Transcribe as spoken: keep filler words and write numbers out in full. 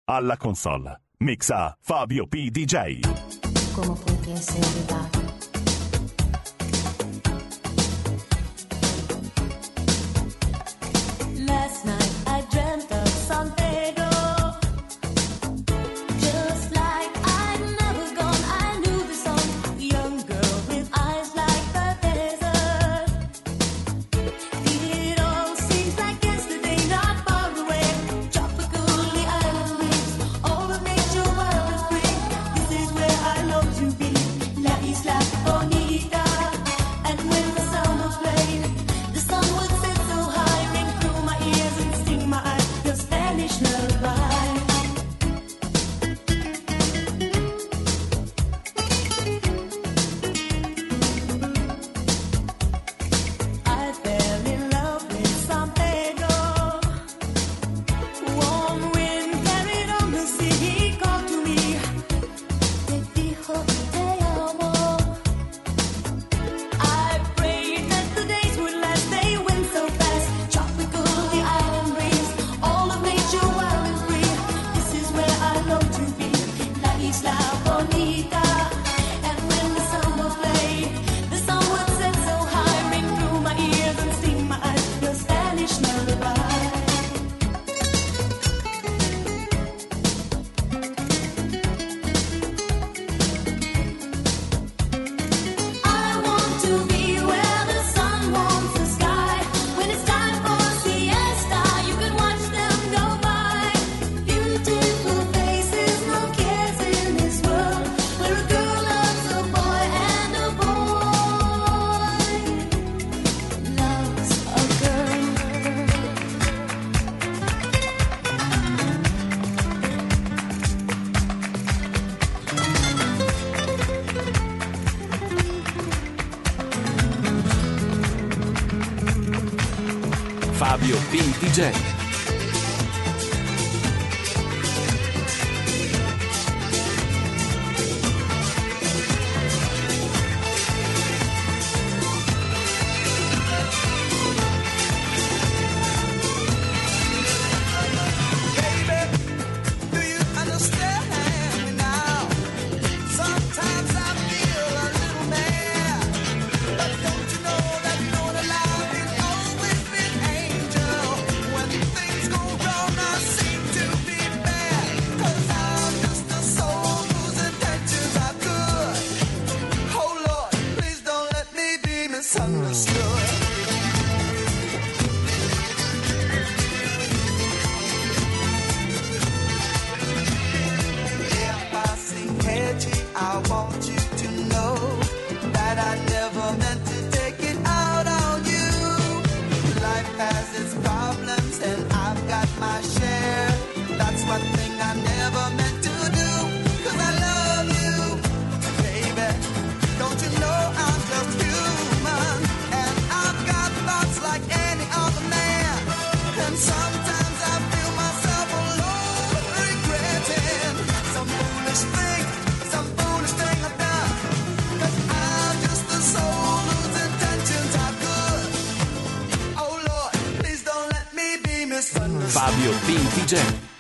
Alla console mixa Fabio P. D J. ¿Cómo fue que se olvidaron? Last night I dreamt of San Pedro. Just like I'd never gone, I knew the song. Young girl with eyes like the desert. It all seems like yesterday, not far away. Tropical, the island breeze, all of nature wild and free. This is where I long to be, La Isla Bonita. And when the summer played, the sun would set so high, ring through my ears and sting my eyes, your Spanish lullaby. I fell in love with San Pedro. Warm wind carried on the sea, he called to me. Te dijo te amo. I prayed that the days would last, they went so fast. Tropical, the island breeze, all of nature wild and free. This is where I long to be, La Isla Bonita. And when the summer played, the sun would set so high, ring through my ears and sting my eyes, your Spanish lullaby. I want to be where the sun warms the sky. When it's time for siesta, you can watch them go by. Beautiful faces, no cares in this world, where a girl loves a boy and a boy loves a girl. Fabio P. D J. Do you understand me now? Sometimes I feel a little mad, but don't you know that Lord alive is always an angel? When things go wrong, I seem to be bad, 'cause I'm just a soul whose intentions are good. Oh Lord, please don't let me be misunderstood. If I sing edgy, I want you to know that I never meant to take it out on you. Life has its problems and I've got my share. That's one thing I never meant to do, 'cause I love you, baby. Don't you know I'm just human, and I've got thoughts like any other man. And sometimes I feel myself alone, regretting some foolish thing, some foolish thing I've done. 'Cause I'm just a soul whose intentions are good. Oh Lord, please don't let me be misunderstood. Fabio P. D J.